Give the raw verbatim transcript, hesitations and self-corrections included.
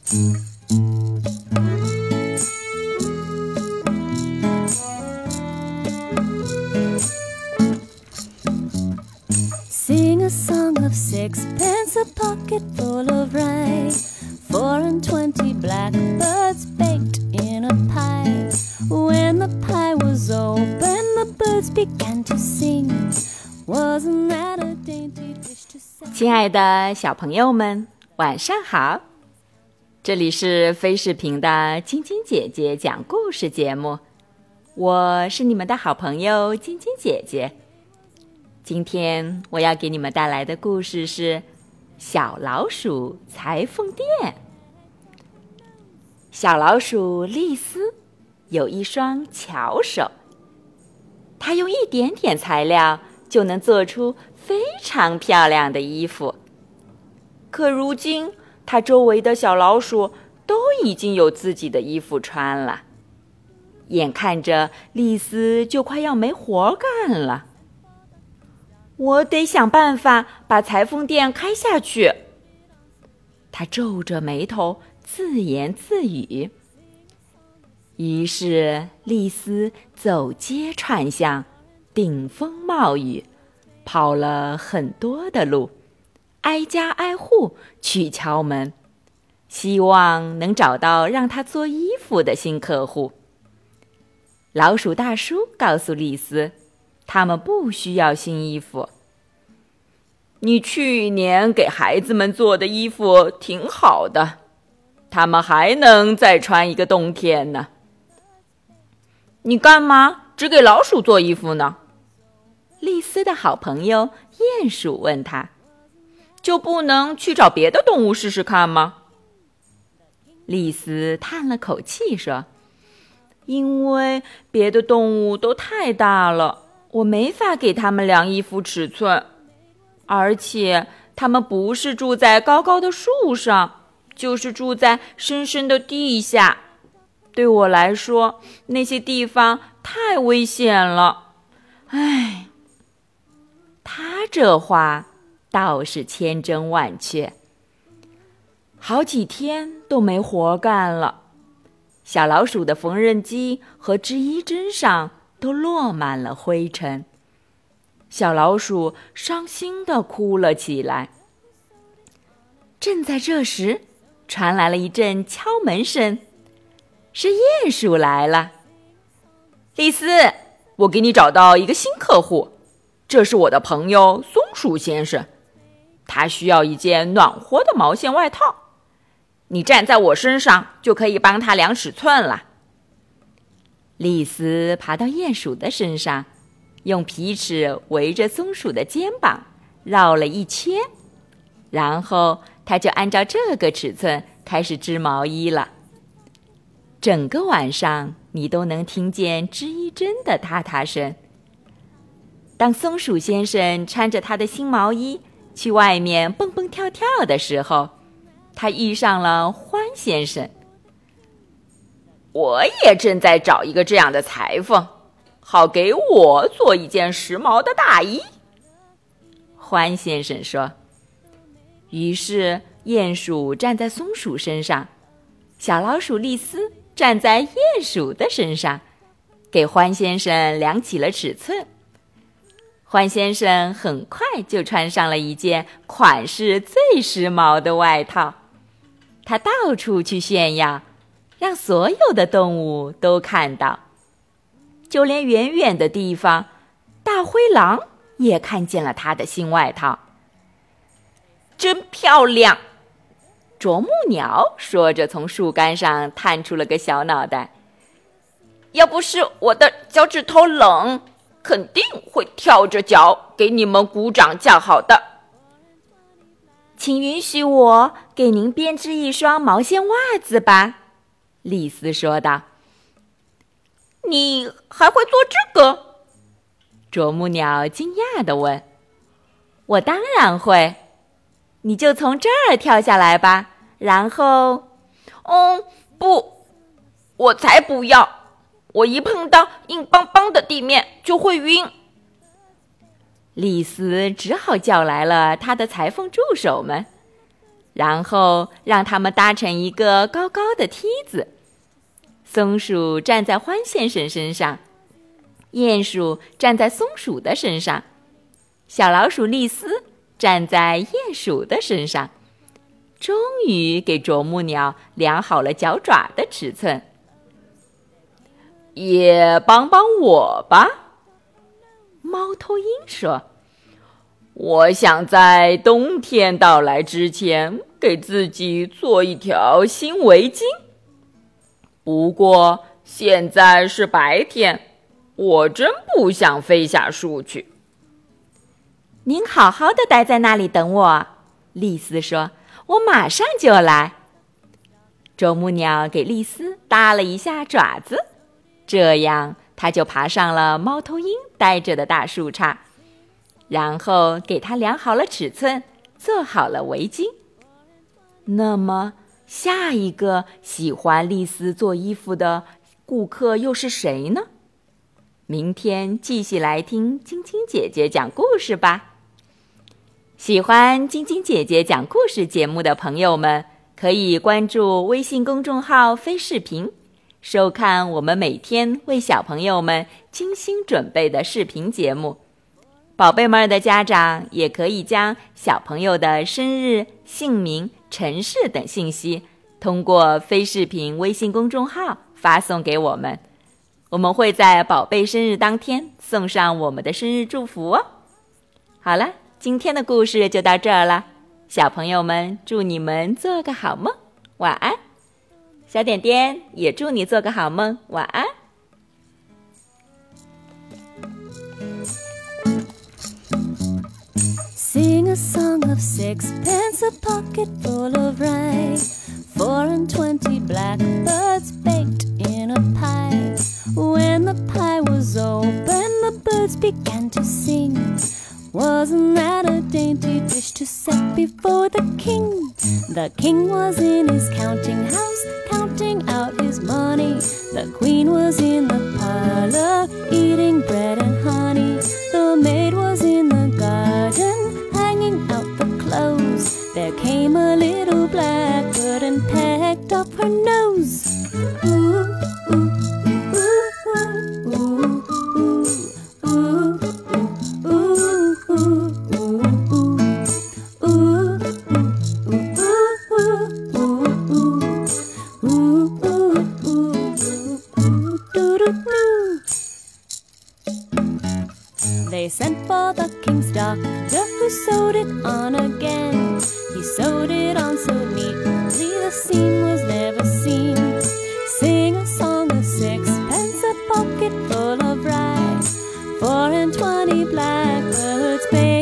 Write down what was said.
Sing a song of sixpence, a pocket full of rye, four and twenty blackbirds baked in a pie. When the pie was open, the birds began to sing. Wasn't that a dainty dish to say? 亲爱的小朋友们，晚上好！这里是飞视频的晶晶姐姐讲故事节目，我是你们的好朋友晶晶姐姐。今天我要给你们带来的故事是小老鼠裁缝店。小老鼠丽丝有一双巧手，它用一点点材料就能做出非常漂亮的衣服。可如今它周围的小老鼠都已经有自己的衣服穿了，眼看着丽丝就快要没活干了。我得想办法把裁缝店开下去。他皱着眉头自言自语。于是丽丝走街串巷，顶风冒雨，跑了很多的路，挨家挨户去敲门，希望能找到让她做衣服的新客户。老鼠大叔告诉丽丝，他们不需要新衣服。你去年给孩子们做的衣服挺好的，他们还能再穿一个冬天呢。你干嘛只给老鼠做衣服呢？丽丝的好朋友鼹鼠问他，就不能去找别的动物试试看吗？丽丝叹了口气说，因为别的动物都太大了，我没法给它们量衣服尺寸，而且它们不是住在高高的树上，就是住在深深的地下。对我来说，那些地方太危险了。唉，他这话倒是千真万确。好几天都没活干了，小老鼠的缝纫机和织衣针上都落满了灰尘。小老鼠伤心地哭了起来。正在这时，传来了一阵敲门声，是鼹鼠来了。丽丝，我给你找到一个新客户，这是我的朋友松鼠先生，他需要一件暖和的毛线外套，你站在我身上就可以帮他量尺寸了。丽丝爬到鼹鼠的身上，用皮尺围着松鼠的肩膀绕了一圈，然后他就按照这个尺寸开始织毛衣了。整个晚上你都能听见织衣针的嗒嗒声。当松鼠先生穿着他的新毛衣去外面蹦蹦跳跳的时候，他遇上了獾先生。我也正在找一个这样的裁缝，好给我做一件时髦的大衣，獾先生说。于是鼹鼠站在松鼠身上，小老鼠丽丝站在鼹鼠的身上，给獾先生量起了尺寸。獾先生很快就穿上了一件款式最时髦的外套，他到处去炫耀，让所有的动物都看到。就连远远的地方，大灰狼也看见了他的新外套。真漂亮！啄木鸟说着从树干上探出了个小脑袋。要不是我的脚趾头冷，肯定会跳着脚给你们鼓掌叫好的。请允许我给您编织一双毛线袜子吧，丽丝说道。你还会做这个？啄木鸟惊讶地问。我当然会，你就从这儿跳下来吧，然后……嗯，不，我才不要，我一碰到硬邦邦的地面就会晕。丽丝只好叫来了她的裁缝助手们， 然后让它们搭成一个高高的梯子。松鼠站在獾先生身上，鼹鼠站在松鼠的身上，小老鼠丽丝站在鼹鼠的身上，终于给啄木鸟量好了脚爪的尺寸。也帮帮我吧，猫头鹰说。我想在冬天到来之前给自己做一条新围巾。不过现在是白天，我真不想飞下树去。您好好的待在那里等我，丽丝说，我马上就来。啄木鸟给丽丝搭了一下爪子，这样它就爬上了猫头鹰待着的大树杈，然后给它量好了尺寸，做好了围巾。那么下一个喜欢丽丝做衣服的顾客又是谁呢？明天继续来听晶晶姐姐讲故事吧。喜欢晶晶姐姐讲故事节目的朋友们，可以关注微信公众号飞视频，收看我们每天为小朋友们精心准备的视频节目。宝贝们的家长也可以将小朋友的生日、姓名、城市等信息通过飞视频微信公众号发送给我们，我们会在宝贝生日当天送上我们的生日祝福哦。好了，今天的故事就到这儿了，小朋友们祝你们做个好梦，晚安。小点点也祝你做个好梦，晚安。 Sing a song of sixpence, a pocket full of rye, four and twenty blackbirds baked in a pie. When the pie was open, the birds began to sing. Wasn't that a dainty dish to set before the king? The king was in his counting house, counting out his money. The queen was in the parlor, eating bread and honey. The maid was in the garden, hanging out the clothes. There came a little blackbird and pecked up her nose. Ooh, ooh, ooh, ooh, ooh, ooh, They sent for the king's doctor, who sewed it on again. He sewed it on so neatly, the seam was never seen. Sing a song of sixpence, a pocket full of rye, four and twenty blackbirds baked